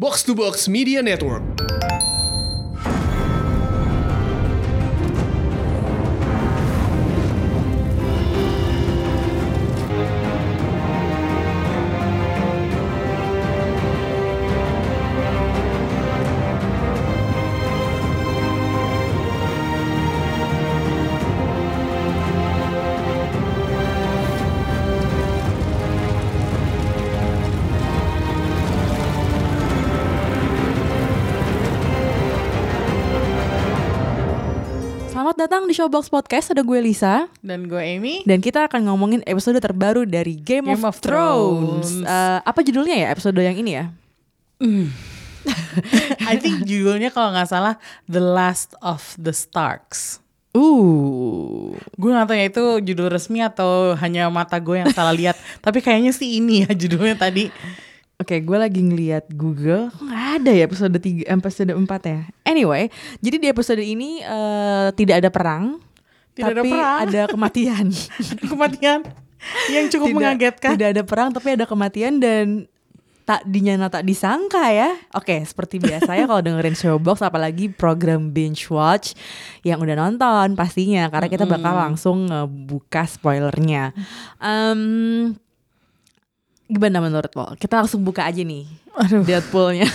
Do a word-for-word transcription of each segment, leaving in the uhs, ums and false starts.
Box to Box Media Network. Selamat datang di Showbox Podcast, ada gue Lisa dan gue Amy. Dan kita akan ngomongin episode terbaru dari Game, Game of, of Thrones, Thrones. Uh, Apa judulnya ya episode yang ini ya? Mm. I think judulnya kalau gak salah The Last of the Starks. Uh, Gue gak tahu ya itu judul resmi atau hanya mata gue yang salah lihat. Tapi kayaknya sih ini ya judulnya tadi. Oke, gue lagi ngeliat Google, kok nggak ada ya episode tiga, episode empat ya. Anyway, jadi di episode ini uh, tidak ada perang, Tidak ada tapi perang. ada kematian. Kematian yang cukup tidak, mengagetkan. Tidak ada perang, tapi ada kematian dan tak dinyana tak disangka ya. Oke, seperti biasa ya kalau dengerin Showbox, apalagi program binge watch yang udah nonton pastinya, karena kita bakal langsung ngebuka spoilernya. Um, Gimana menurut lo? Kita langsung buka aja nih. Aduh. Deadpool-nya.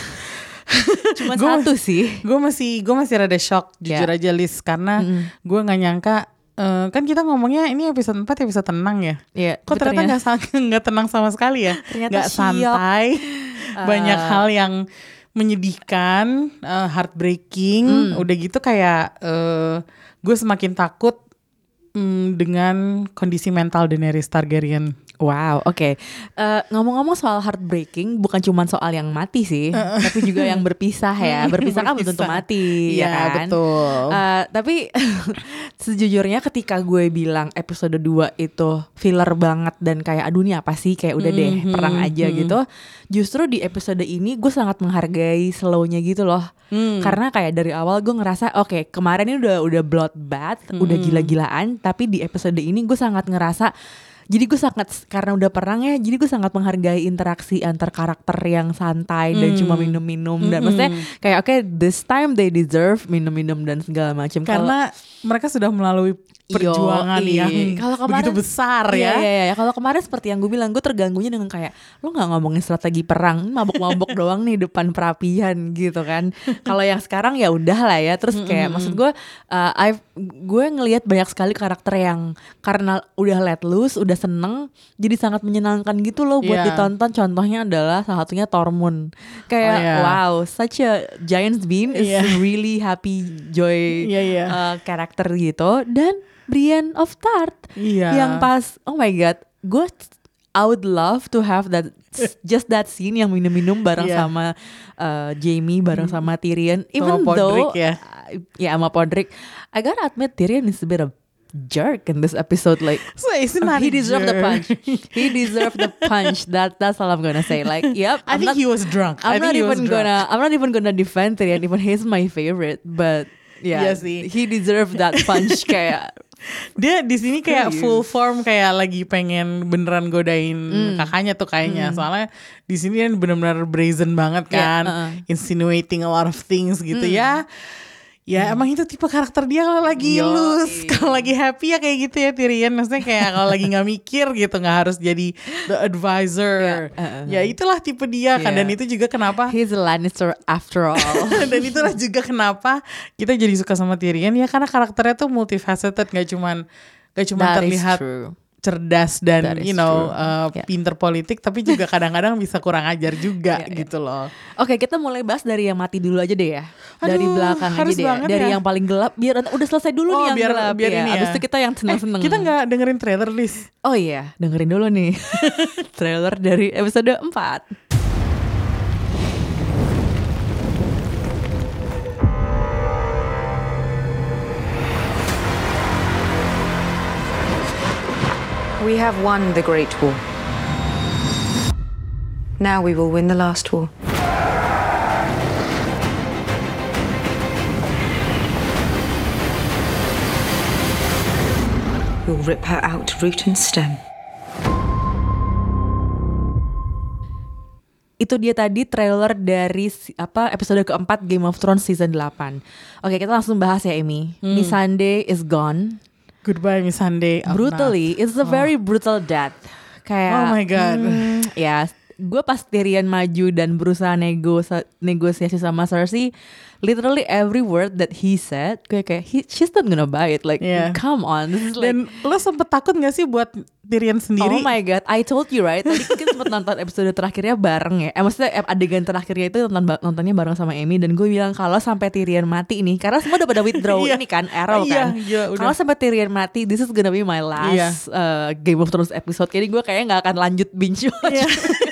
Cuma Gua satu sih. Gue masih gue masih rada shock jujur Yeah. aja Liz, karena Mm-mm. gue nggak nyangka. Uh, kan kita ngomongnya ini episode empat episode tenang ya. Iya, Kok tapi ternyata nggak nggak tenang sama sekali ya? Ternyata Nggak santai. Banyak Uh, hal yang menyedihkan, uh, heartbreaking. Mm. Udah gitu kayak uh, gue semakin takut um, dengan kondisi mental Daenerys Targaryen. Wow, oke. Okay. Uh, ngomong-ngomong soal heartbreaking, bukan cuma soal yang mati sih, uh, tapi juga yang berpisah ya. Berpisah kan belum tentu mati, Iya, ya kan? betul. Uh, tapi sejujurnya ketika gue bilang episode dua itu filler banget dan kayak aduh ini apa sih, kayak udah deh Mm-hmm. perang aja Mm-hmm. gitu. Justru di episode ini gue sangat menghargai slownya gitu loh. Mm. Karena kayak dari awal gue ngerasa oke okay, kemarin ini udah udah bloodbath, Mm-hmm. udah gila-gilaan, tapi di episode ini gue sangat ngerasa. Jadi gue sangat, karena udah perang ya, jadi gue sangat menghargai interaksi antar karakter yang santai dan Mm. cuma minum-minum. Dan Mm-mm. maksudnya kayak oke okay, this time they deserve minum-minum dan segala macam. Karena Kalo, mereka sudah melalui perjuangan Yo, yang kalau kemarin, begitu besar iya, ya. Iya, iya. Kalau kemarin seperti yang gue bilang, gue terganggunya dengan kayak lo nggak ngomongin strategi perang, mabok-mabok doang nih depan perapian gitu kan. Kalau yang sekarang ya udah lah ya. Terus kayak mm-hmm. maksud gue, uh, I've, gue ngelihat banyak sekali karakter yang karena udah let loose, udah seneng, jadi sangat menyenangkan gitu loh buat yeah. ditonton. Contohnya adalah salah satunya Tormund. Kayak oh, yeah. wow, such a giant's bean is yeah. really happy joy yeah, yeah. Uh, karakter gitu. Dan Brienne of Tarth yeah. yang pas oh my god, gue I would love to have that just that scene yang minum-minum bareng yeah. sama uh, Jaime bareng sama Tyrion. Even sama though Podrick, ya. Uh, ya sama Podrick, I gotta admit Tyrion is a bit of jerk in this episode. Like so it's not he deserved the jerk. punch. He deserved the punch. That that's all I'm gonna say. Like, yep. I I'm think not, he was drunk. I'm I not think he even was drunk. gonna. I'm not even gonna defend Tyrion. Even he's my favorite. But yeah, Iya sih. he deserved that punch. Kayak dia di sini kayak Serius. full form, kayak lagi pengen beneran godain Mm. kakaknya tuh kayaknya. Mm. Soalnya di sini kan benar-benar brazen banget kan, Yeah, uh-uh. insinuating a lot of things gitu Mm. ya. Ya mm. emang itu tipe karakter dia kalau lagi Yo, loose, iya. kalau lagi happy ya kayak gitu ya Tyrion. Maksudnya kayak kalau lagi nggak mikir gitu, nggak harus jadi the advisor. Yeah, uh-uh. Ya itulah tipe dia kan, Yeah. dan itu juga kenapa. he's a Lannister after all. Dan itulah juga kenapa kita jadi suka sama Tyrion ya, karena karakternya tuh multifaceted, gak cuman gak cuma That is terlihat true. cerdas dan That is you know true. uh, Yeah. pinter politik, tapi juga kadang-kadang bisa kurang ajar juga Yeah, yeah. gitu loh. Oke, kita mulai bahas dari yang mati dulu aja deh ya. Dari Aduh, belakang aja harus deh ya. banget Dari ya. yang paling gelap, biar udah selesai dulu Oh, nih yang biar- gelap biar ya. ini ya. Abis itu kita yang seneng-seneng. Eh, kita nggak dengerin trailer list. Oh iya, dengerin dulu nih trailer dari episode empat. We have won the Great War. Now we will win the last war. We'll rip her out root and stem. itu dia tadi trailer dari si- apa episode keempat Game of Thrones season delapan. Oke, kita langsung bahas ya, Amy. Hmm. Missandei is gone. Goodbye Miss Sunday. Brutally, it's a very brutal death. Kayak Oh my God. hmm, ya, gue pas Tyrion maju dan berusaha nego negosiasi sama Cersei, literally every word that he said, gue kayak he, she's not gonna buy it. Like, Yeah. come on, this is like. Dan lo sempet takut gak sih buat Tyrion sendiri? Oh my god, I told you right. Tadi kita sempat nonton episode terakhirnya bareng ya. Eh maksudnya eh, adegan terakhirnya itu nonton nontonnya bareng sama Amy, dan gue bilang kalau sampai Tyrion mati ini, karena semua udah pada withdraw Iya. ini kan, arrow Iya, kan. iya, udah. Kalau sampai Tyrion mati, this is gonna be my Iya. last uh, Game of Thrones episode. Jadi gue kayaknya nggak akan lanjut binge watch. Iya.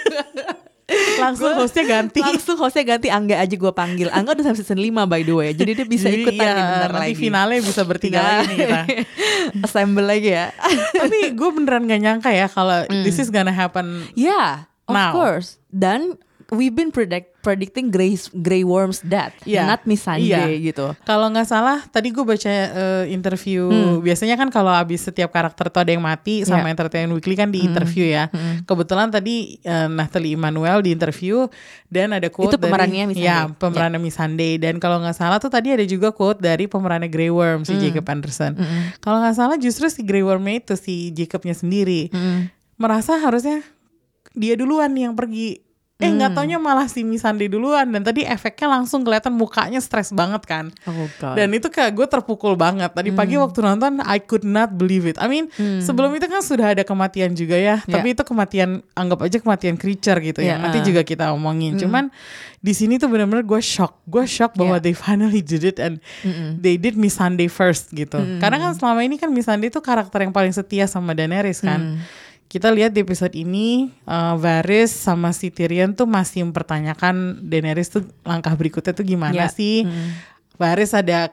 Langsung Gua- hostnya ganti. Langsung hostnya ganti, Angga aja gue panggil. Angga udah sampai season lima by the way. Jadi dia bisa Jadi, ikutan iya, nih bentar nanti lagi. finalnya bisa bertiga lagi nih kita. Assemble lagi ya. Tapi gue beneran gak nyangka ya kalau this is gonna happen. Yeah, of Now. course. Dan we've been predict predicting Grey Grey Worm's death, Iya. not Missandei Iya. gitu. Kalau nggak salah, tadi gue baca uh, interview. Biasanya kan kalau abis setiap karakter tuh ada yang mati, sama Yeah. Entertainment Weekly kan di interview ya. Kebetulan tadi uh, Nathalie Emmanuel di interview dan ada quote Itu pemerannya dari, Missandei. ya pemerannya Missandei. Dan kalau nggak salah tuh tadi ada juga quote dari pemerannya Grey Worm si Jacob Anderson. Kalau nggak salah justru si Grey Wormnya itu si Jacobnya sendiri merasa harusnya dia duluan nih yang pergi. Eh nggak taunya malah si Missandei duluan, dan tadi efeknya langsung kelihatan mukanya stres banget kan. Oh god. Dan itu kayak gue terpukul banget. Tadi pagi waktu nonton I could not believe it. I mean sebelum itu kan sudah ada kematian juga ya. Yeah. Tapi itu kematian, anggap aja kematian creature gitu ya. Yeah, Nanti uh. juga kita omongin. Cuman di sini tuh benar-benar gue shock. Gue shock bahwa Yeah. they finally did it and they did Missandei first gitu. Karena kan selama ini kan Missandei tuh karakter yang paling setia sama Daenerys kan. Kita lihat di episode ini uh, Varys sama si Tyrion tuh masih mempertanyakan Daenerys tuh langkah berikutnya tuh gimana Yeah. sih. Varys ada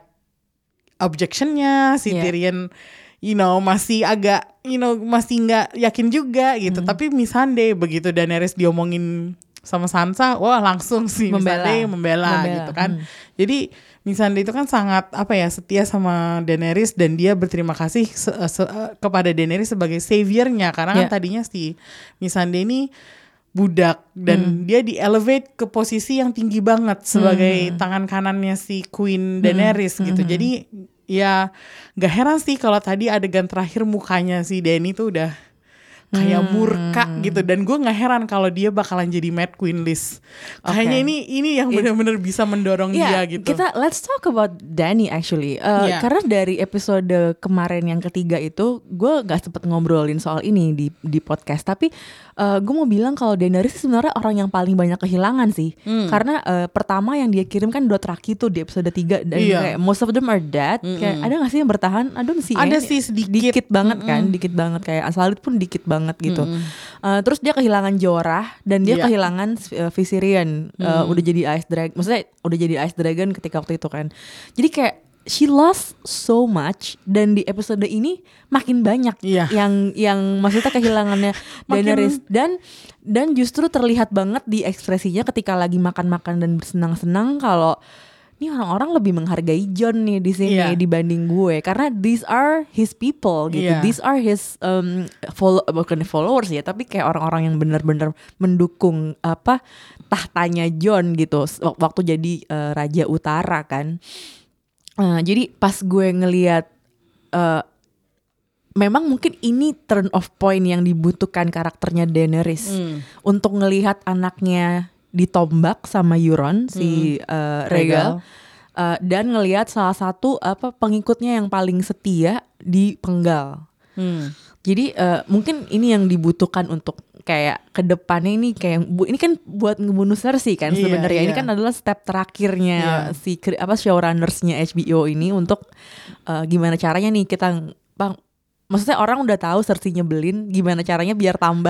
objectionnya, si Yeah. Tyrion you know masih agak you know masih nggak yakin juga gitu. Tapi Missandei begitu Daenerys diomongin sama Sansa, wah langsung sih Membela. Missandei membela, Membela, gitu kan. hmm. Jadi Missandei itu kan sangat apa ya setia sama Daenerys, dan dia berterima kasih se- se- kepada Daenerys sebagai saviornya, karena kan Yeah. tadinya si Missandei ini budak dan dia di elevate ke posisi yang tinggi banget sebagai tangan kanannya si Queen Daenerys gitu. Jadi ya gak heran sih kalau tadi adegan terakhir mukanya si Dany tuh udah kayak murka gitu, dan gue nggak heran kalau dia bakalan jadi Mad Queen list. Kayaknya Okay. ini ini yang benar-benar bisa mendorong Yeah, dia gitu. kita let's talk about Dany actually. Uh, Yeah. Karena dari episode kemarin yang ketiga itu, gue gak sempet ngobrolin soal ini di di podcast. Tapi uh, gue mau bilang kalau Daenerys sebenarnya orang yang paling banyak kehilangan sih. Hmm. Karena uh, pertama yang dia kirim kan Dothraki tuh di episode tiga, dan Iya. kayak most of them are dead. Kayak ada gak sih yang bertahan? Ada sih. Ada ya. sih sedikit. Dikit banget kan, dikit banget, kayak Unsullied pun dikit banget gitu. Uh, terus dia kehilangan Jorah, dan dia Iya. kehilangan uh, Viserion. Uh, udah jadi Ice Dragon, maksudnya udah jadi Ice Dragon ketika waktu itu kan. Jadi kayak she lost so much, dan di episode ini makin banyak Iya. yang yang maksudnya kehilangannya Daenerys, dan dan justru terlihat banget di ekspresinya ketika lagi makan-makan dan bersenang-senang kalau ini orang-orang lebih menghargai Jon nih di sini Iya. dibanding gue, karena these are his people gitu. Iya. These are his um, follow bukan followers ya, tapi kayak orang-orang yang benar-benar mendukung apa tahtanya Jon gitu wak- waktu jadi uh, Raja Utara kan. Uh, jadi pas gue ngelihat uh, memang mungkin ini turn off point yang dibutuhkan karakternya Daenerys untuk ngelihat anaknya ditombak sama Euron si uh, Rhaegal, uh, dan ngelihat salah satu apa pengikutnya yang paling setia dipenggal. Hmm. Jadi uh, mungkin ini yang dibutuhkan untuk kayak kedepannya ini kayak bu, ini kan buat ngebunuh Cersei kan Iya, sebenarnya. Ini iya. kan adalah step terakhirnya Iya. si kri- apa showrunnersnya H B O ini untuk uh, gimana caranya nih kita bang, maksudnya orang udah tahu Cersei nyebelin, gimana caranya biar tambah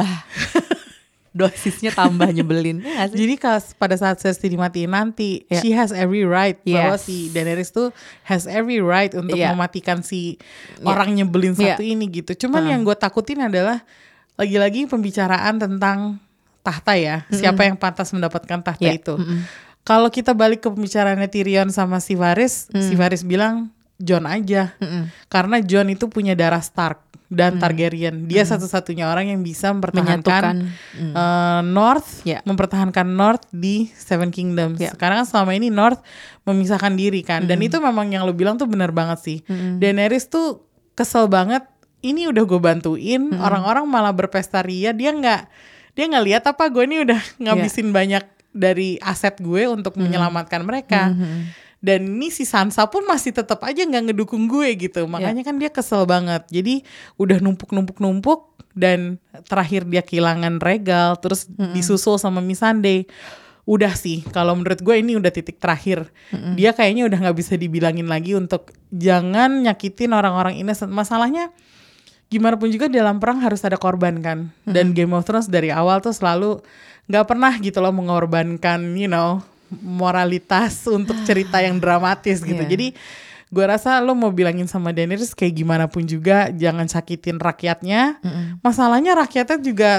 dosisnya tambah nyebelin. Ya nggak sih? Jadi kas, pada saat Cersei dimatiin nanti, Yeah. she has every right bahwa Yes. si Daenerys tuh has every right untuk Yeah. mematikan si Yeah. orang nyebelin Yeah. satu ini gitu. Cuman Uh. yang gue takutin adalah lagi-lagi pembicaraan tentang tahta ya, siapa yang pantas mendapatkan tahta Yeah. itu. Mm-mm. Kalau kita balik ke pembicaraannya Tyrion sama si Varys, si Varys bilang Jon aja, Mm-mm. karena Jon itu punya darah Stark. dan Targaryen. Dia hmm. satu-satunya orang yang bisa mempertahankan hmm. uh, North, yeah. mempertahankan North di Seven Kingdoms. Yeah. Karena kan selama ini North memisahkan diri kan. Hmm. Dan itu memang yang lo bilang tuh benar banget sih. Hmm. Daenerys tuh kesel banget. Ini udah gue bantuin, hmm. orang-orang malah berpesta ria. Dia nggak, dia nggak lihat apa gue ini udah ngabisin yeah. banyak dari aset gue untuk hmm. menyelamatkan mereka. Hmm. Dan ini si Sansa pun masih tetap aja nggak ngedukung gue gitu. Makanya yeah. kan dia kesel banget. Jadi udah numpuk-numpuk-numpuk dan terakhir dia kehilangan Rhaegal, terus mm-hmm. disusul sama Missandei. Udah sih, kalau menurut gue ini udah titik terakhir. Mm-hmm. Dia kayaknya udah nggak bisa dibilangin lagi untuk jangan nyakitin orang-orang innocent. Masalahnya gimana pun juga dalam perang harus ada korban kan. Mm-hmm. Dan Game of Thrones dari awal tuh selalu nggak pernah gitu loh mengorbankan, you know, moralitas untuk cerita yang dramatis gitu. Yeah. Jadi gue rasa lo mau bilangin sama Daenerys kayak gimana pun juga jangan sakitin rakyatnya. Mm-mm. Masalahnya rakyatnya juga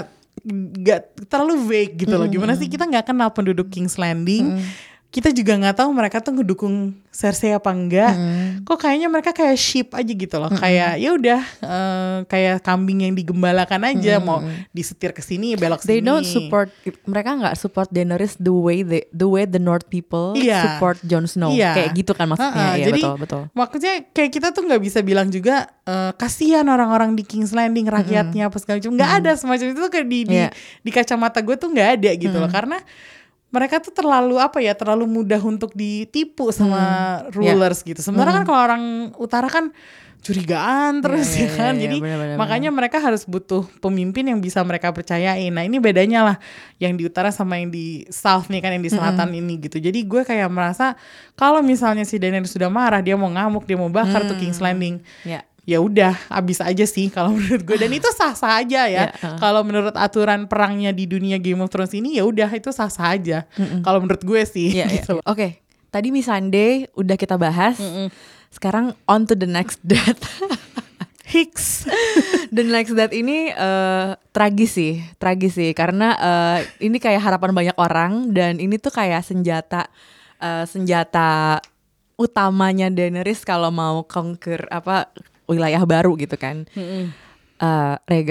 gak terlalu vague gitu loh. Gimana sih kita gak kenal penduduk King's Landing. Mm. Kita juga gak tahu mereka tuh ngedukung Cersei apa enggak. Mm. Kok kayaknya mereka kayak sheep aja gitu loh. Mm. Kayak ya udah uh, kayak kambing yang digembalakan aja. Mm. Mau disetir ke sini belok sini. They don't support, mereka gak support Daenerys the way they, the way the North people yeah. support Jon Snow. Yeah. Kayak gitu kan maksudnya. Uh-uh. Ya, jadi betul, betul. Maksudnya kayak kita tuh gak bisa bilang juga uh, kasihan orang-orang di King's Landing rakyatnya mm. apa segala macam. Gak mm. ada semacam itu tuh kayak di, yeah. di, di kacamata gue tuh gak ada gitu mm. loh. Karena mereka tuh terlalu apa ya, terlalu mudah untuk ditipu sama hmm. rulers yeah. gitu. Sebenarnya hmm. kan kalau orang utara kan curigaan terus yeah, ya kan. Yeah, Jadi yeah, bener, bener, makanya bener. mereka harus butuh pemimpin yang bisa mereka percayain. Nah ini bedanya lah yang di utara sama yang di south nih kan, yang di selatan hmm. ini gitu. Jadi gue kayak merasa kalau misalnya si Daenerys sudah marah, dia mau ngamuk, dia mau bakar hmm. tuh King's Landing. Yeah. Ya udah abis aja sih kalau menurut gue, dan itu sah-sah aja ya. Yeah, uh. Kalau menurut aturan perangnya di dunia Game of Thrones ini ya udah itu sah-sah aja. Kalau menurut gue sih. Yeah, gitu. Yeah. Oke, okay. Tadi Missandei udah kita bahas. Mm-mm. Sekarang on to the next death. Hicks. The next death ini uh, tragis sih, tragis sih karena uh, ini kayak harapan banyak orang dan ini tuh kayak senjata uh, senjata utamanya Daenerys kalau mau conquer apa wilayah baru gitu kan. Mm-hmm. uh, Rhaegal.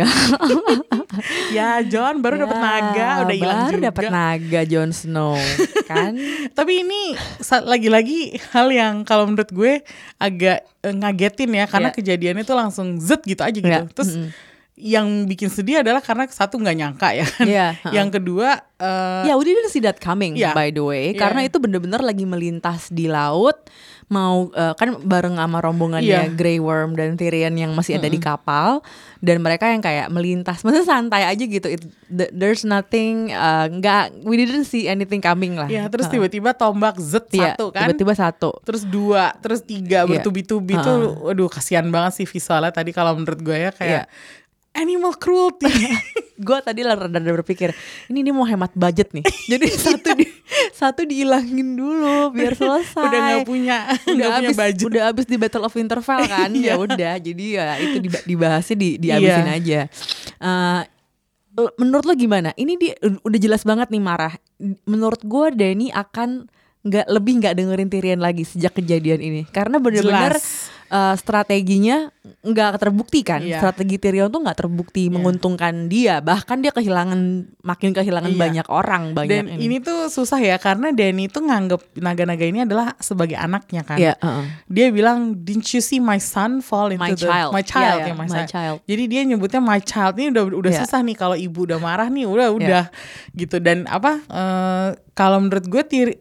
Ya Jon baru ya, dapat naga udah hilang juga. Baru dapat naga Jon Snow kan. Tapi ini lagi-lagi hal yang kalau menurut gue agak uh, ngagetin ya karena yeah. kejadiannya tuh langsung zet gitu aja gitu. Yeah. Terus mm-hmm. yang bikin sedih adalah karena satu nggak nyangka ya kan. Yeah, uh-uh. Yang kedua uh, ya yeah, we didn't see that coming yeah. by the way. Yeah. Karena itu bener-bener lagi melintas di laut. Mau uh, kan bareng sama rombongannya yeah. Grey Worm dan Tyrion yang masih ada mm-hmm. di kapal. Dan mereka yang kayak melintas, maksudnya santai aja gitu. It, th- there's nothing, uh, nggak, we didn't see anything coming lah. Ya yeah, terus uh. tiba-tiba tombak zet yeah, satu kan. Tiba-tiba satu. Terus dua, terus tiga yeah. bertubi-tubi uh. tuh, waduh kasihan banget sih visualnya tadi kalau menurut gue ya kayak. Yeah. Animal cruelty. Gue tadi rada berpikir ini dia mau hemat budget nih. Jadi satu di, satu dihilangin dulu biar selesai. Udah nggak punya, udah habis, punya budget. Udah habis di Battle of Winterfell kan. Ya udah, jadi ya itu dibahasnya di dihabisin yeah. aja. Uh, menurut lo gimana? Ini dia udah jelas banget nih marah. Menurut gue Dany akan nggak lebih nggak dengerin Tyrion lagi sejak kejadian ini karena benar-benar uh, strateginya nggak terbukti kan. Yeah. Strategi Tyrion tuh nggak terbukti yeah. menguntungkan dia, bahkan dia kehilangan makin kehilangan yeah. banyak orang banyak. Dan ini. ini tuh susah ya karena Dany tuh nganggep naga-naga ini adalah sebagai anaknya kan. Yeah, uh-uh. Dia bilang didn't you see my son fall into my the child. my child yeah, yeah, yeah, my, my child. Jadi dia nyebutnya my child. Ini udah udah yeah. susah nih kalau ibu udah marah nih udah udah yeah. gitu. Dan apa uh, kalau menurut gue Tyrion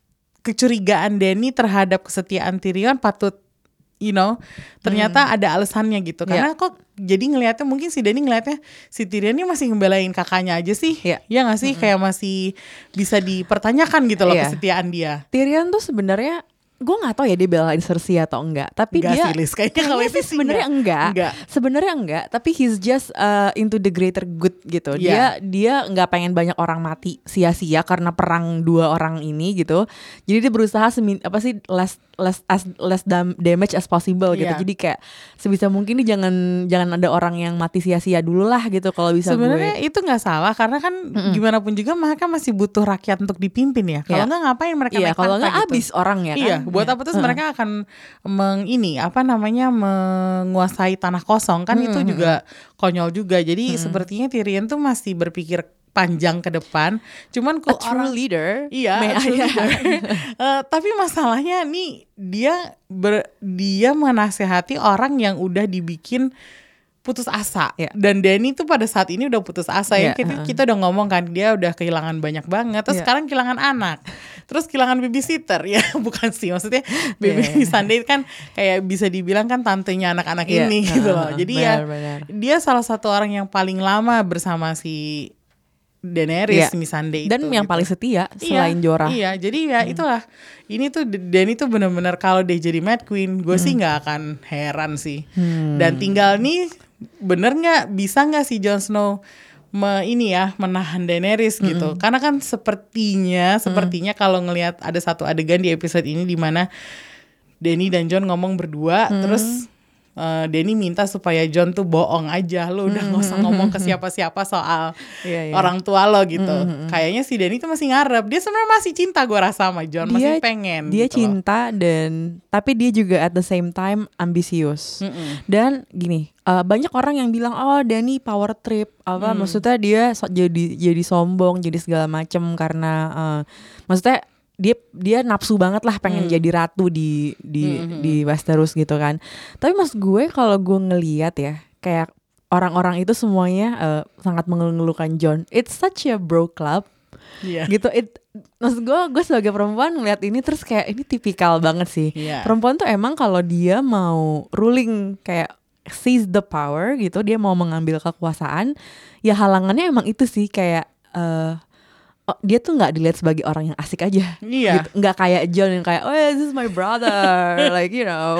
kecurigaan Dany terhadap kesetiaan Tyrion patut, you know, ternyata hmm. ada alasannya gitu. Karena yeah. kok jadi ngelihatnya mungkin si Dany ngelihatnya si Tyrion ini masih ngebelain kakaknya aja sih. Yeah. Ya gak sih? Mm-hmm. Kayak masih bisa dipertanyakan gitu loh yeah. kesetiaan dia. Tyrion tuh sebenarnya gue nggak tahu ya dia belain Cersei atau enggak, tapi enggak dia sih, Liz. Kayaknya kalau itu sebenarnya enggak, enggak. sebenarnya enggak, tapi he's just uh, into the greater good gitu. Yeah. Dia dia nggak pengen banyak orang mati sia-sia karena perang dua orang ini gitu. Jadi dia berusaha semin apa sih last less as less dam- damage as possible gitu. Iya. Jadi kayak sebisa mungkin nih jangan jangan ada orang yang mati sia-sia dulu lah gitu kalau bisa. Sebenarnya gue. itu nggak salah karena kan mm-mm. gimana pun juga mereka masih butuh rakyat untuk dipimpin ya. Kalau nggak yeah. ngapain mereka yeah, naik kalau nggak gitu. abis orang ya kan. Iya, buat yeah. apa terus uh-huh. mereka akan meng ini apa namanya menguasai tanah kosong kan mm-hmm. itu juga konyol juga. Jadi mm-hmm. sepertinya Tyrion tuh masih berpikir panjang ke depan, cuman kok orang leader, iya, a true leader. uh, tapi masalahnya nih dia ber, dia menasehati orang yang udah dibikin putus asa, yeah. dan Dany tuh pada saat ini udah putus asa yeah, ya kita, uh-uh. kita udah ngomong kan dia udah kehilangan banyak banget, terus yeah. sekarang kehilangan anak, terus kehilangan babysitter ya bukan sih maksudnya baby yeah. Sunday kan kayak bisa dibilang kan tantenya anak-anak yeah. ini gitu loh, jadi benar, ya benar. Dia salah satu orang yang paling lama bersama si Daenerys, yeah. Missandei dan itu, yang gitu. paling setia selain iya, Jorah. Iya, jadi ya hmm. itulah. Ini tuh Dany tuh benar-benar kalau dia jadi Mad Queen, gue hmm. sih nggak akan heran sih. Hmm. Dan tinggal nih, bener nggak bisa nggak si Jon Snow me, ini ya menahan Daenerys gitu? Hmm. Karena kan sepertinya, sepertinya hmm. kalau ngelihat ada satu adegan di episode ini di mana Dany dan Jon ngomong berdua, hmm. terus Uh, Dany minta supaya Jon tuh bohong aja, lo udah nggak usah ngomong ke siapa-siapa soal yeah, yeah. orang tua lo gitu. Mm-hmm. Kayaknya si Dany tuh masih ngarep, dia sebenarnya masih cinta gue rasa sama Jon, masih pengen. Dia gitu cinta loh. Dan tapi dia juga at the same time ambisius. Mm-mm. Dan gini, uh, banyak orang yang bilang oh Dany power trip, apa mm. maksudnya dia so, jadi jadi sombong, jadi segala macem karena uh, maksudnya dia dia nafsu banget lah pengen hmm. jadi ratu di di hmm. di Westeros gitu kan. Tapi mas gue kalau gue ngelihat ya kayak orang-orang itu semuanya uh, sangat mengeluhkan Jon. It's such a bro club. Yeah. Gitu. It maksud gue gue sebagai perempuan ngeliat ini terus kayak ini tipikal banget sih. Yeah. Perempuan tuh emang kalau dia mau ruling kayak seize the power gitu, dia mau mengambil kekuasaan, ya halangannya emang itu sih kayak uh, Oh, dia tuh nggak dilihat sebagai orang yang asik aja, iya. gitu. Nggak kayak Jon yang kayak, oh yeah, this is my brother, like you know,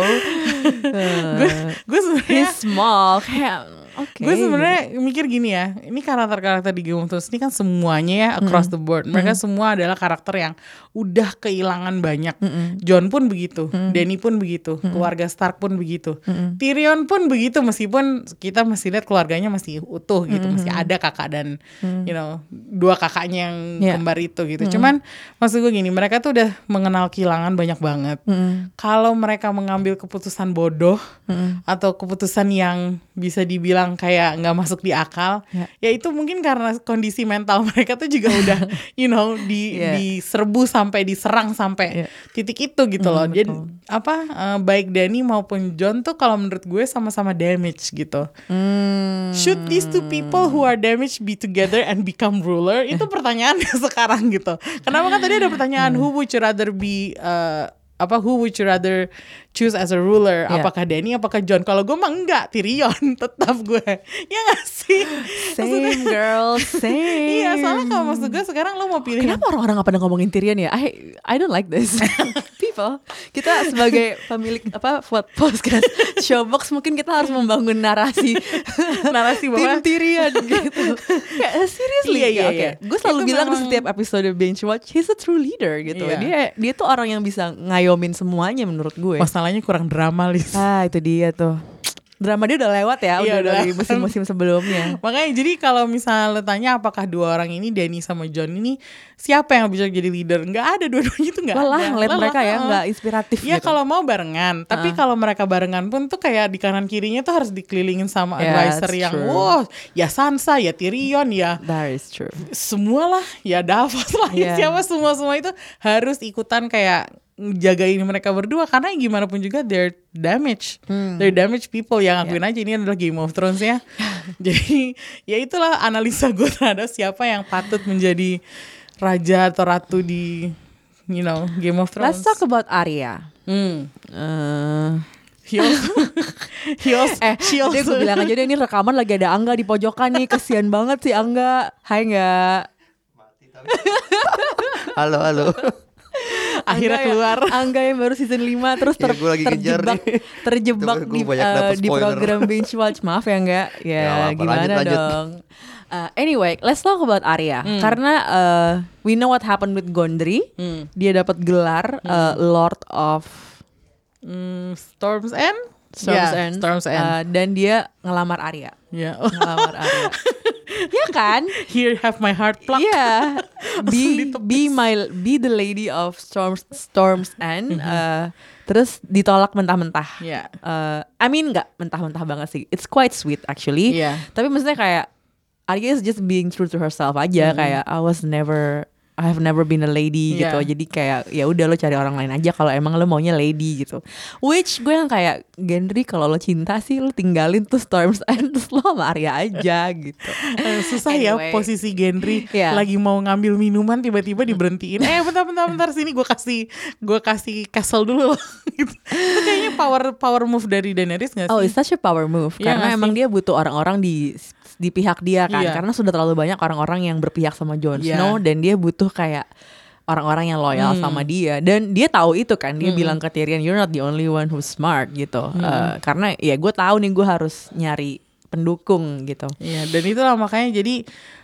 uh, gue sebenarnya he's small, kayak okay. Gue sebenarnya mikir gini ya, ini karakter-karakter di Game of Thrones ini kan semuanya ya across mm. the board, mereka mm. semua adalah karakter yang udah kehilangan banyak. Mm-mm. Jon pun begitu, mm. Dany pun begitu, mm. keluarga Stark pun begitu, mm. Tyrion pun begitu, meskipun kita masih lihat keluarganya masih utuh gitu, mm. masih ada kakak dan mm. you know dua kakaknya yang yeah. kembar itu gitu. Mm. Cuman maksud gue gini, mereka tuh udah mengenal kehilangan banyak banget. Mm. Kalau mereka mengambil keputusan bodoh mm. atau keputusan yang bisa dibilang kayak nggak masuk di akal, yeah. ya itu mungkin karena kondisi mental mereka tuh juga udah you know di yeah. diserbu sampai diserang sampai yeah. titik itu gitu loh. Mm, Jadi apa uh, baik Dany maupun Jon tuh kalau menurut gue sama-sama damage gitu. Mm. Should these two people who are damaged be together and become ruler? Itu pertanyaannya sekarang gitu. Kenapa kan tadi ada pertanyaan who would you rather be uh, apa who would you rather choose as a ruler, yeah. apakah Dany apakah Jon? Kalau gue mah enggak, Tyrion tetap gue. Ya gak sih? Same maksudnya, girl, same. Iya, soalnya kalau maksud gue sekarang lo mau pilih. Kenapa orang-orang gak pada ngomongin Tyrion ya? I I don't like this. People, kita sebagai pemilik apa podcast Showbox mungkin kita harus membangun narasi narasi bahwa Tim Tyrion gitu. Kayak seriously, iya, iya, oke. iya. Gue selalu itu bilang memang... di setiap episode Binge Watch, he's a true leader gitu. Iya. Dia dia tuh orang yang bisa ngayomin semuanya menurut gue. Masalahnya kurang drama, Lis. Ah, itu dia tuh. Drama dia udah lewat ya, iya, udah, udah dari musim-musim sebelumnya. Makanya jadi kalau misalnya lo tanya apakah dua orang ini, Dany sama Jon ini, siapa yang bisa jadi leader? Nggak ada, dua-duanya itu nggak ada. Lelah ngeliat mereka ya, nggak inspiratif ya gitu. kalau mau barengan, tapi uh. kalau mereka barengan pun tuh kayak di kanan kirinya tuh harus dikelilingin sama yeah, advisor yang true. Wow, ya Sansa, ya Tyrion, ya that is true. Semualah, ya Davos lah, yeah. siapa semua-semua itu harus ikutan kayak jagain mereka berdua, karena gimana pun juga they're damaged, hmm. they're damaged people yang akuin yeah. aja ini adalah Game of Thrones ya. Jadi ya itulah analisa gue terhadap siapa yang patut menjadi raja atau ratu di you know Game of Thrones. Let's talk about Arya. Hmm. Uh. Hios, Hios, eh, Hios. Dia gue bilang aja deh ini rekaman lagi ada Angga di pojokan nih, kesian banget sih Angga. Hai nggak? Mati tapi. Halo halo. Akhirnya Angga keluar ya, Angga yang baru season lima terus ter, ya, terjebak terjebak di, uh, di program Binge Watch. Maaf ya enggak ya, ya apa, gimana lanjut, lanjut. dong uh, anyway let's talk about Arya hmm. karena uh, we know what happened with Gondry. hmm. Dia dapat gelar hmm. uh, Lord of Hmm, Storm's End? Storm's Yeah, End. Storm's End. Uh, dan dia ngelamar Arya. Ya. Ngelamar Arya. Ya kan? Here have my heart plucked. Iya. Be ditepis. be my be the lady of Storms Storm's End. Uh, terus ditolak mentah-mentah. Yeah. Uh, I mean nggak mentah-mentah banget sih. It's quite sweet actually. Yeah. Tapi maksudnya kayak Arya is just being true to herself aja. Kayak I was never I have never been a lady Yeah. gitu. Jadi kayak ya udah lo cari orang lain aja kalau emang lo maunya lady gitu. Which gue yang kayak Gendry kalau lo cinta sih lo tinggalin tuh Storm's End terus lo sama Arya aja gitu. Eh, susah Anyway. ya posisi Gendry Yeah. lagi mau ngambil minuman tiba-tiba diberhentiin. Eh bentar bentar bentar sini gue kasih gue kasih castle dulu loh. Gitu. Itu kayaknya power power move dari Daenerys nggak sih? Oh, it's such a power move Iya karena nggak emang sih? dia butuh orang-orang di di pihak dia kan, Iya. karena sudah terlalu banyak orang-orang yang berpihak sama Jon Iya. Snow dan dia butuh kayak orang-orang yang loyal Hmm. sama dia dan dia tahu itu kan, dia bilang ke Tyrion you're not the only one who's smart gitu. Eh, karena ya gue tahu nih gue harus nyari pendukung gitu. Iya, dan itulah makanya jadi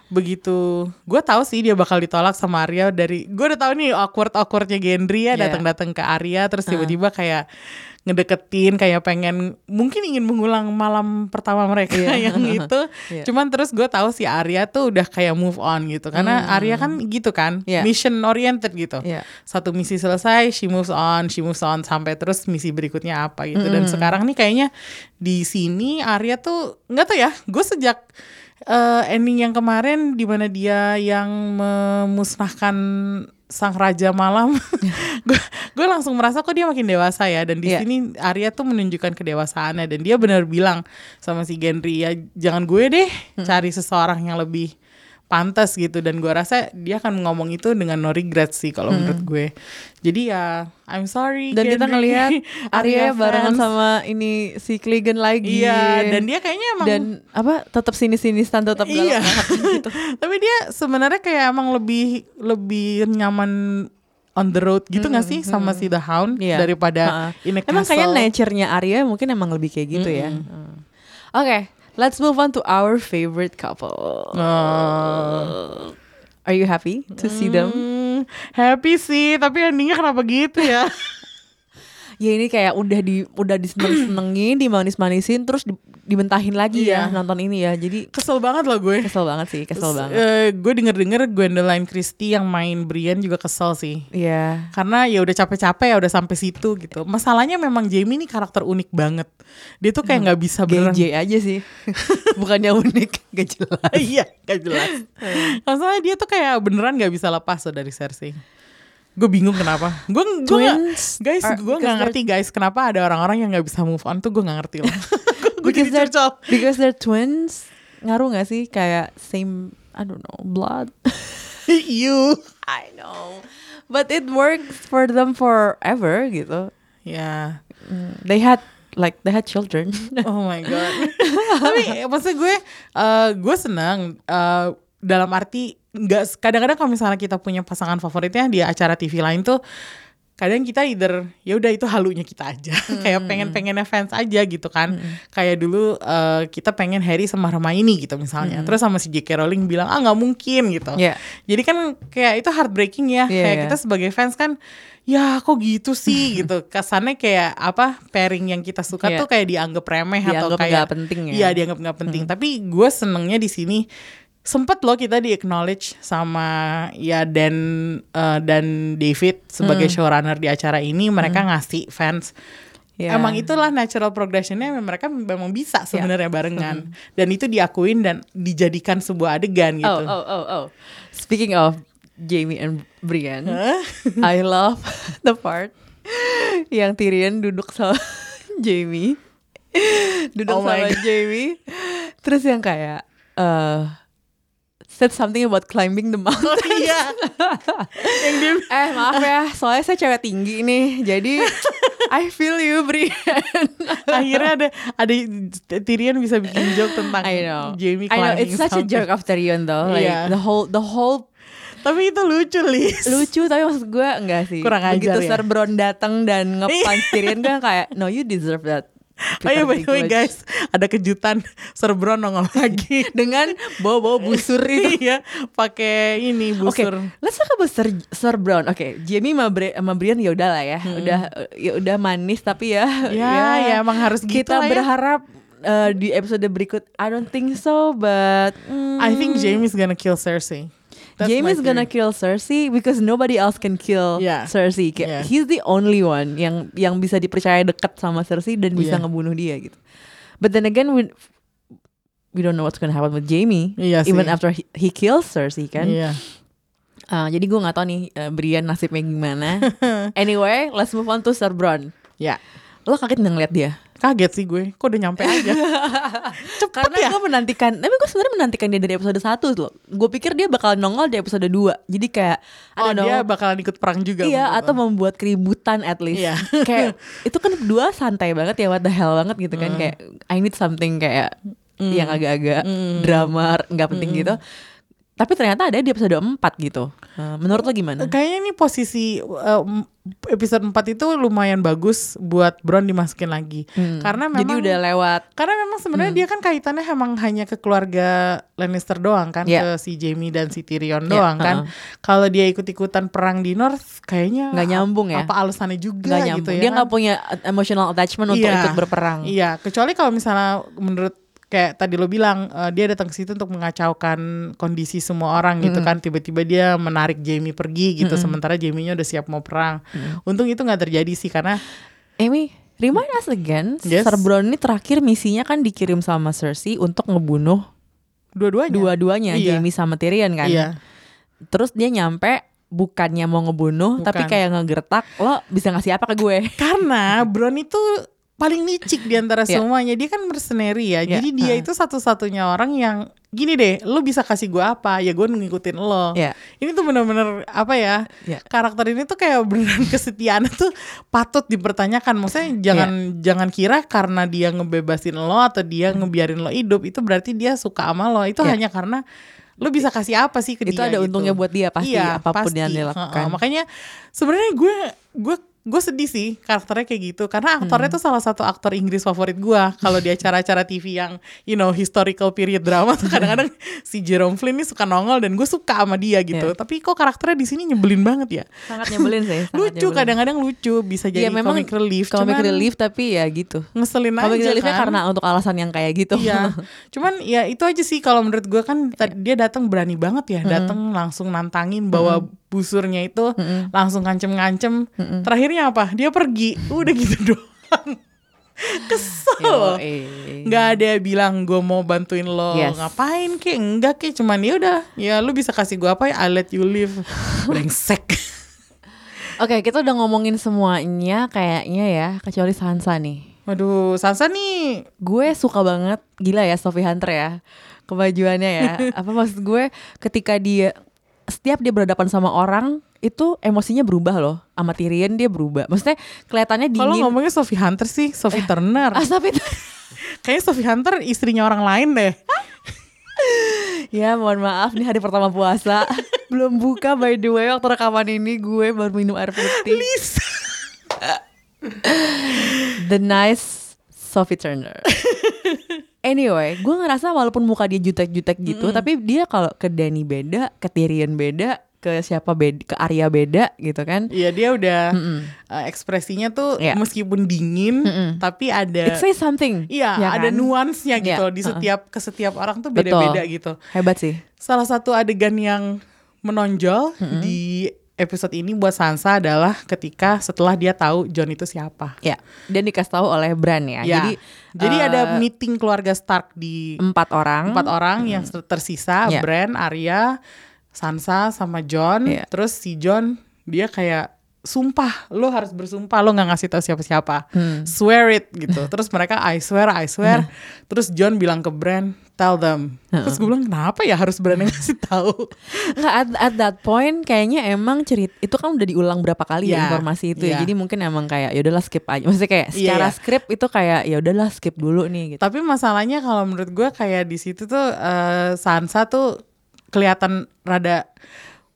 begitu gue tahu sih dia bakal ditolak sama Arya dari gue udah tahu nih awkward awkwardnya Gendry ya Yeah. datang-datang ke Arya terus tiba-tiba kayak ngedeketin kayak pengen mungkin ingin mengulang malam pertama mereka Iya. yang itu Iya. cuman terus gue tahu si Arya tuh udah kayak move on gitu karena Arya kan gitu kan Iya. mission oriented gitu Iya. satu misi selesai she moves on she moves on sampai terus misi berikutnya apa gitu dan sekarang nih kayaknya di sini Arya tuh nggak tahu ya gue sejak uh, ending yang kemarin di mana dia yang memusnahkan sang raja malam, gue gue langsung merasa kok dia makin dewasa ya dan di Iya. sini Arya tuh menunjukkan kedewasaannya dan dia benar bilang sama si Gendry ya jangan gue deh cari seseorang yang lebih pantas gitu dan gue rasa dia akan ngomong itu dengan no regret sih kalau menurut gue jadi ya I'm sorry Dan kita Gendry. ngelihat Arya barengan fans. sama ini si Clegane lagi. Iya dan dia kayaknya emang dan apa tetap sini-sinistan tetap Iya. galak gitu. Tapi dia sebenarnya kayak emang lebih lebih nyaman on the road gitu nggak sih sama si The Hound Iya. daripada Ha-ha. in a Emang castle. kayak nature-nya Arya mungkin emang lebih kayak gitu ya. Hmm. Oke, let's move on to our favorite couple. Oh. Are you happy to see them? Hmm, happy sih, tapi endingnya kenapa gitu ya? Ya ini kayak udah di udah diseneng-senengin, dimanis-manisin, terus di, dibentahin lagi ya Iya. nonton ini ya. Jadi Kesel banget loh gue. kesel banget sih, kesel Terus, banget. eh, gue denger-denger Gwendoline Christie yang main Brienne juga kesel sih. Iya. Karena ya udah capek-capek ya udah sampai situ gitu. Masalahnya memang Jaime ini karakter unik banget. Dia tuh kayak nggak bisa beneran. G J aja sih. Bukannya unik, gak jelas. Iya, gak jelas. Masalahnya dia tuh kayak beneran gak bisa lepas loh dari Cersei. Gue bingung kenapa. Gue gue Twins guys, are- gue because nggak ngerti guys kenapa ada orang-orang yang nggak bisa move on tuh gue nggak ngerti loh. Gue because jadi they're curcol. because they're twins, ngaruh gak sih kayak same I don't know blood? You. I know, but it works for them forever gitu. Ya. Mm, They had like they had children. Oh my god. Tapi maksud gue, uh, gue senang uh, dalam arti nggak kadang-kadang kalau misalnya kita punya pasangan favoritnya di acara T V lain tuh kadang kita either ya udah itu halunya kita aja kayak pengen-pengennya fans aja gitu kan kayak dulu uh, kita pengen Harry sama Hermione gitu misalnya terus sama si J K Rowling bilang ah nggak mungkin gitu Yeah. jadi kan kayak itu heartbreaking ya Iya, kayak iya. kita sebagai fans kan ya kok gitu sih gitu kesannya kayak apa pairing yang kita suka Iya. tuh kayak dianggap remeh atau Dianggap kayak nggak penting ya. iya dianggap nggak penting tapi gue senengnya di sini sempet loh kita di acknowledge sama ya Dan uh, dan David sebagai showrunner di acara ini mereka ngasih fans Yeah. emang itulah natural progressionnya mereka memang bisa sebenarnya barengan dan itu diakuin dan dijadikan sebuah adegan gitu. Oh oh oh oh. Speaking of Jaime and Brienne, I love the part yang Tyrion duduk sama Jaime, duduk Oh my sama God. Jaime, terus yang kayak uh, said something about climbing the mountain. Oh iya. Yang dia Eh maaf ya, soalnya saya cewek tinggi nih, jadi I feel you Brienne. akhirnya ada ada Tyrion bisa bikin joke tentang I know, Jaime I know, climbing it's such a something. joke of Tyrion though, like Iya. the whole the whole Tapi itu lucu Lis. lucu tapi maksud gue enggak sih. Kurang ajar Begitu ya? Sir Bronn datang dan nge-punch Tyrion gue kayak no you deserve that Oh iya, by Peter the way Dinklage. guys, ada kejutan, Sir Brown nongol lagi Dengan bawa-bawa busur itu. Iya, pakai ini Oke, busur. let's talk about Sir, Sir Brown. Oke, Jamie sama, Bri- sama Brian ya udah lah ya, udah ya udah manis tapi ya, Ya, ya emang harus gitu kita lah ya. berharap uh, di episode berikut. I don't think so, but mm, I think Jamie's gonna kill Cersei. That's Jamie's my gonna theory. kill Cersei because nobody else can kill Yeah. Cersei. Kayak, Yeah. he's the only one yang yang bisa dipercaya dekat sama Cersei dan bisa Yeah. ngebunuh dia gitu. But then again, we we don't know what's gonna happen with Jamie. Iya sih. Even after he, he kills Cersei kan. Iya. Uh, jadi gue nggak tahu nih uh, Brian nasibnya gimana. Anyway, let's move on to Sir Bronn. Ya, Lo kaget nggak ngeliat dia? kaget sih gue. Kok udah nyampe aja. Cepet Karena ya. gue menantikan, tapi gue sebenarnya menantikan dia dari episode satu loh. Gue pikir dia bakal nongol di episode dua. Jadi kayak, I Oh, don't know. dia bakalan ikut perang juga. Iya, menurut atau lo. membuat keributan at least. Iya. Kayak itu kan berdua santai banget ya, what the hell banget gitu kan. Kayak I need something kayak yang agak-agak drama, nggak penting gitu. Tapi ternyata ada di episode empat gitu. Uh, menurut lo gimana? Kayaknya ini posisi uh, episode empat itu lumayan bagus buat Bronn dimasukin lagi. Hmm. Karena memang Jadi udah lewat. Karena memang sebenarnya dia kan kaitannya emang hanya ke keluarga Lannister doang kan, Yeah. ke si Jaime dan si Tyrion Yeah, doang kan. uh-uh. Kalau dia ikut-ikutan perang di North, kayaknya Nggak nyambung ya? Apa alasannya juga Nggak gitu nyambung. ya? Dia kan? nggak punya emotional attachment untuk Iya. ikut berperang. Iya, kecuali kalau misalnya menurut kayak tadi lo bilang uh, dia datang ke situ untuk mengacaukan kondisi semua orang gitu kan, tiba-tiba dia menarik Jaime pergi gitu, sementara Jaime-nya udah siap mau perang. Untung itu nggak terjadi sih karena Amy, remind us again, Yes. Sir Bronn ini terakhir misinya kan dikirim sama Cersei untuk ngebunuh dua-duanya. dua-duanya, Iya. Jaime sama Tyrion kan. Iya. Terus dia nyampe bukannya mau ngebunuh, Bukan. tapi kayak ngegertak, lo bisa ngasih apa ke gue? Karena Bronn itu paling licik di antara Yeah. semuanya. Dia kan mercenary ya. Yeah. Jadi dia Uh. itu satu-satunya orang yang gini deh, lo bisa kasih gue apa? Ya gue ngikutin lo. Yeah. Ini tuh bener-bener apa ya? Yeah. Karakter ini tuh kayak beneran kesetiaannya tuh patut dipertanyakan. Maksudnya jangan jangan kira karena dia ngebebasin lo atau dia ngebiarin lo hidup itu berarti dia suka sama lo. Itu Yeah. hanya karena lo bisa kasih apa sih ke Itu dia ada gitu. untungnya buat dia pasti, Iya, apapun pasti. yang dia lakukan. Heeh, makanya sebenarnya gue gue gue sedih sih karakternya kayak gitu karena aktornya Hmm. tuh salah satu aktor Inggris favorit gue. Kalau di acara-acara T V yang you know historical period drama tuh kadang-kadang si Jerome Flynn nih suka nongol dan gue suka sama dia gitu. Yeah. Tapi kok karakternya di sini nyebelin banget ya. Sangat nyebelin sih. sangat Lucu, nyebelin. kadang-kadang lucu, bisa jadi Iya, memang comic relief. Comic cuman relief tapi ya gitu. ngeselin Comic aja reliefnya kan. karena untuk alasan yang kayak gitu. Iya, cuman ya itu aja sih kalau menurut gue kan ta- dia datang berani banget ya, datang langsung nantangin bawa busurnya itu langsung ngancem-ngancem. Terakhirnya apa? Dia pergi, udah gitu doang. Kesel. Yoi. Nggak ada yang bilang gue mau bantuin lo Yes. ngapain kek, enggak kek, cuman ya udah, ya lu bisa kasih gue apa ya, I let you live. Brengsek. Oke, kita udah ngomongin semuanya kayaknya ya, kecuali Sansa nih. Waduh, Sansa nih Gue suka banget, gila ya Sophie Hunter ya, kebajuannya ya. Apa maksud gue, ketika dia setiap dia berhadapan sama orang itu emosinya berubah loh. Sama Tyrion dia berubah. Maksudnya kelihatannya kalau dingin. ngomongnya Sophie Hunter sih, Sophie Turner. Ah, tapi Kayaknya Sophie Hunter istrinya orang lain deh. ya mohon maaf nih hari pertama puasa belum buka by the way, waktu rekaman ini gue baru minum air putih. Lisa. The nice Sophie Turner. Anyway, gue ngerasa walaupun muka dia jutek-jutek gitu, tapi dia kalau ke Dany beda, ke Tyrion beda, ke siapa beda, ke Arya beda gitu kan. Iya, dia udah uh, ekspresinya tuh Iya. meskipun dingin, tapi ada It says something. iya, ya ada kan? nuansnya gitu Iya, loh, di uh-uh. setiap ke setiap orang tuh Betul. beda-beda gitu. Hebat sih. Salah satu adegan yang menonjol di episode ini buat Sansa adalah ketika setelah dia tahu Jon itu siapa. Ya, dan dikasih tahu oleh Bran ya. Ya. Jadi Jadi eh, ada meeting keluarga Stark di empat orang. empat orang yang tersisa, Ya. Bran, Arya, Sansa sama Jon. Iya. Terus si Jon dia kayak sumpah, lo harus bersumpah lo nggak ngasih tahu siapa-siapa, Hmm. swear it gitu. Terus mereka I swear, I swear. Terus Jon bilang ke Bran, tell them. Terus gue bilang kenapa ya harus Bran yang ngasih tahu? Nggak, at, at that point kayaknya emang cerit itu kan udah diulang berapa kali ya Ya, informasi itu ya. ya. Jadi mungkin emang kayak ya udahlah skip aja. Maksudnya kayak Iya, secara iya. skrip itu kayak ya udahlah skip dulu nih gitu. Tapi masalahnya kalau menurut gue kayak di situ tuh eh, Sansa tuh kelihatan rada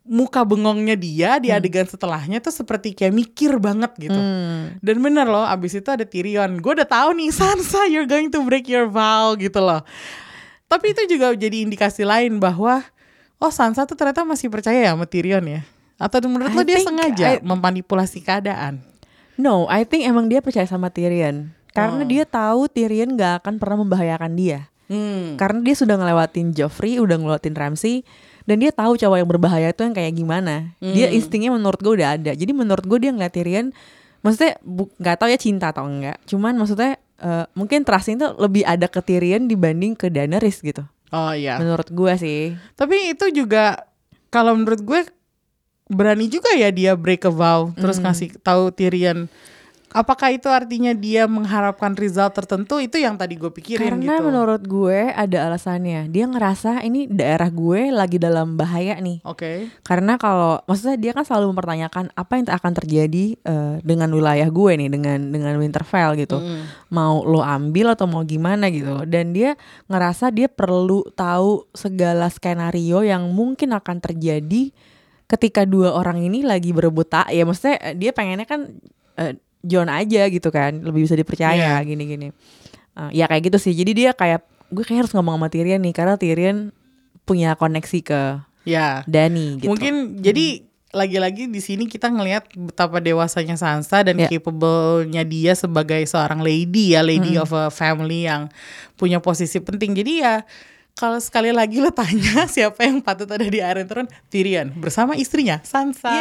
muka bengongnya dia di adegan setelahnya tuh seperti kayak mikir banget gitu. Hmm. Dan bener loh, abis itu ada Tyrion. Gue udah tahu nih, Sansa, you're going to break your vow gitu loh. Tapi itu juga jadi indikasi lain bahwa oh Sansa tuh ternyata masih percaya ya sama Tyrion ya. Atau menurut I lo dia think sengaja I- memanipulasi keadaan? No, I think emang dia percaya sama Tyrion. Karena Oh. dia tahu Tyrion gak akan pernah membahayakan dia. Hmm. Karena dia sudah ngelewatin Joffrey, udah ngelewatin Ramsay, dan dia tahu cowok yang berbahaya itu yang kayak gimana. Dia Hmm. instingnya menurut gue udah ada. Jadi menurut gue dia ngeliat Tyrion, maksudnya bu- nggak tahu ya cinta atau enggak. Cuman maksudnya eh, mungkin trustnya itu lebih ada ke Tyrion dibanding ke Daenerys gitu. Oh iya. Menurut gue sih. Tapi itu juga kalau menurut gue berani juga ya dia break a vow terus ngasih tahu Tyrion. Apakah itu artinya dia mengharapkan result tertentu? Itu yang tadi gue pikirin Karena gitu. menurut gue ada alasannya. Dia ngerasa ini daerah gue lagi dalam bahaya nih. Oke. Karena kalau maksudnya dia kan selalu mempertanyakan apa yang akan terjadi eh, dengan wilayah gue nih, dengan dengan Winterfell gitu. Mm. Mau lo ambil atau mau gimana gitu loh. Dan dia ngerasa dia perlu tahu segala skenario yang mungkin akan terjadi ketika dua orang ini lagi berebut tak. Ya maksudnya eh, dia pengennya kan eh, Jon aja gitu kan, lebih bisa dipercaya Iya. gini-gini. Uh, ya kayak gitu sih. Jadi dia kayak gue kayak harus ngomong sama Tyrion nih karena Tyrion punya koneksi ke Ya. Dany gitu. Mungkin jadi lagi-lagi di sini kita ngelihat betapa dewasanya Sansa dan Ya. capable-nya dia sebagai seorang lady ya, lady Mm-mm. of a family yang punya posisi penting. Jadi ya kalau sekali lagi lo tanya siapa yang patut ada di Iron Throne, Tyrion bersama istrinya Sansa.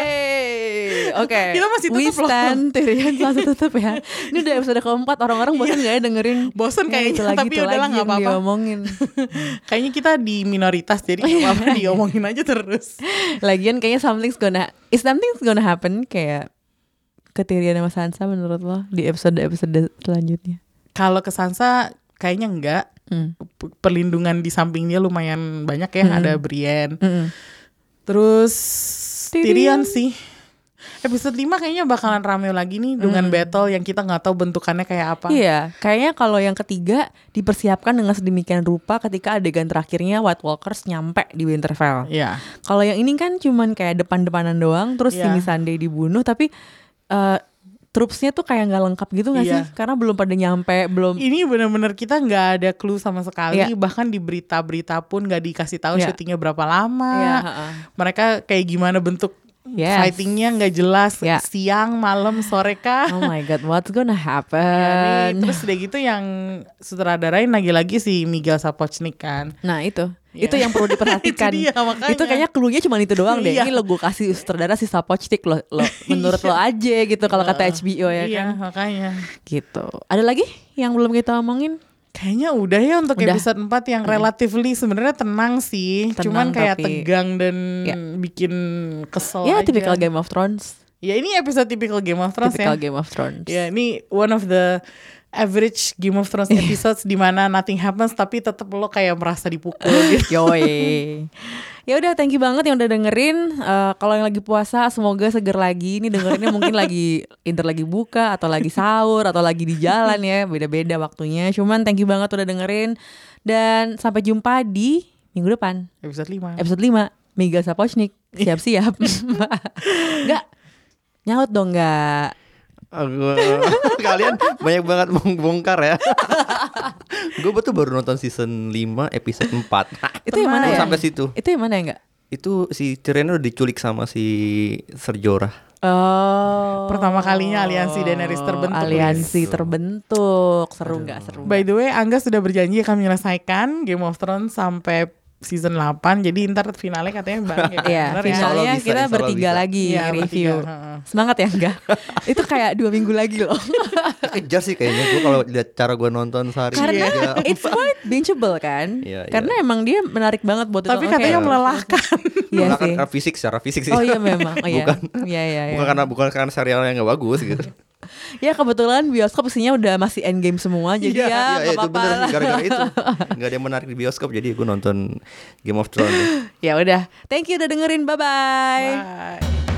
Yeay. Oke. Kita masih We tutup loh. stand Tyrion masih tutup ya. Ini udah episode keempat, orang-orang bosan gak ya dengerin? Bosen Ya, kayaknya, itu lagi, tapi itu udahlah, lagi nggak yang apa-apa. diomongin. Kayaknya kita di minoritas jadi nggak apa-apa diomongin aja terus. Lagian kayaknya something's gonna is something's gonna happen kayak ke Tyrion sama Sansa menurut lo di episode-episode selanjutnya. Kalau ke Sansa kayaknya enggak. Hmm. P- Perlindungan di sampingnya lumayan banyak ya, Hmm. ada Brienne. Mm-mm. Terus Tyrion Tyrion. sih. Episode lima kayaknya bakalan rame lagi nih dengan battle yang kita nggak tahu bentukannya kayak apa. Iya, kayaknya kalau yang ketiga dipersiapkan dengan sedemikian rupa ketika adegan terakhirnya White Walkers nyampe di Winterfell. Iya. Kalau yang ini kan cuman kayak depan-depanan doang, terus Iya. si Missandei dibunuh, tapi uh, troops-nya tuh kayak nggak lengkap gitu nggak Iya. sih? Karena belum pada nyampe, belum. Ini benar-benar kita nggak ada clue sama sekali. Iya. Bahkan di berita-berita pun nggak dikasih tahu Iya. syutingnya berapa lama. Iya, heeh. Mereka kayak gimana bentuk Yes. fightingnya nggak jelas. Iya. Siang, malam, sore kah? Oh my god, what's gonna Ya, happen? nih, terus udah gitu yang sutradarain lagi-lagi si Miguel Sapochnik kan. Nah itu, Iya. itu yang perlu diperhatikan. Itu dia, makanya. Itu kayaknya clue-nya cuma itu doang deh. Iya. Ini lo gue kasih sutradara si Sapochnik lo, lo menurut lo aja gitu kalau kata H B O ya Iya, kan. makanya. Gitu. Ada lagi yang belum kita omongin? Kayaknya udah ya untuk Udah. episode empat yang relatively sebenarnya tenang sih. Tenang, Cuman kayak tapi- tegang dan Ya. bikin kesel Ya aja. tipikal Game of Thrones. Ya ini episode typical Game of Thrones Tipikal ya. Game of Thrones. Ya ini one of the average Game of Thrones episodes di mana nothing happens tapi tetap lo kayak merasa dipukul gitu. Yoi. Ya udah, thank you banget yang udah dengerin. Eh, kalau yang lagi puasa semoga seger lagi. Ini dengerinnya mungkin lagi inter lagi buka atau lagi sahur atau lagi di jalan ya, beda-beda waktunya. Cuman thank you banget udah dengerin dan sampai jumpa di minggu depan. Episode lima. Episode lima, Miguel Sapochnik. Siap-siap. Enggak. Nyaut dong enggak. Aku, kalian banyak banget bongkar ya. Gue betul baru nonton season lima episode empat. Itu yang mana Baru ya? sampai situ. Itu yang mana ya enggak? Itu si Tyrion udah diculik sama si Ser Jorah. Oh. Pertama kalinya aliansi Daenerys terbentuk, Aliansi Liz. terbentuk. Seru enggak? Seru. By the way, Angga sudah berjanji akan menyelesaikan Game of Thrones sampai season delapan. Jadi ntar finalnya katanya bareng ya. Iya, Bener ya? Insya Allah finalnya bisa, kita insya Allah bertiga bisa. lagi Iya, review. bertiga, heeh. Semangat ya enggak? Itu kayak dua minggu lagi loh. Kejar sih kayaknya gue kalau lihat cara gue nonton sehari Karena aja. it's quite bingeable kan. Iya, iya. Karena emang dia menarik banget buat Tapi ditonton. katanya Kayak- melelahkan. Iya Bukan sih. karena fisik, secara fisik sih. Oh iya memang. Oh iya. Bukan. Iya iya iya. Bukan karena bukan karena serialnya nggak bagus gitu. Ya kebetulan bioskop isinya udah masih endgame semua jadi Iya, ya Iya, nggak itu apa-apa bener lah. gara-gara itu. Nggak ada yang menarik di bioskop jadi gue nonton Game of Thrones. Ya udah. Thank you udah dengerin. Bye bye. Bye.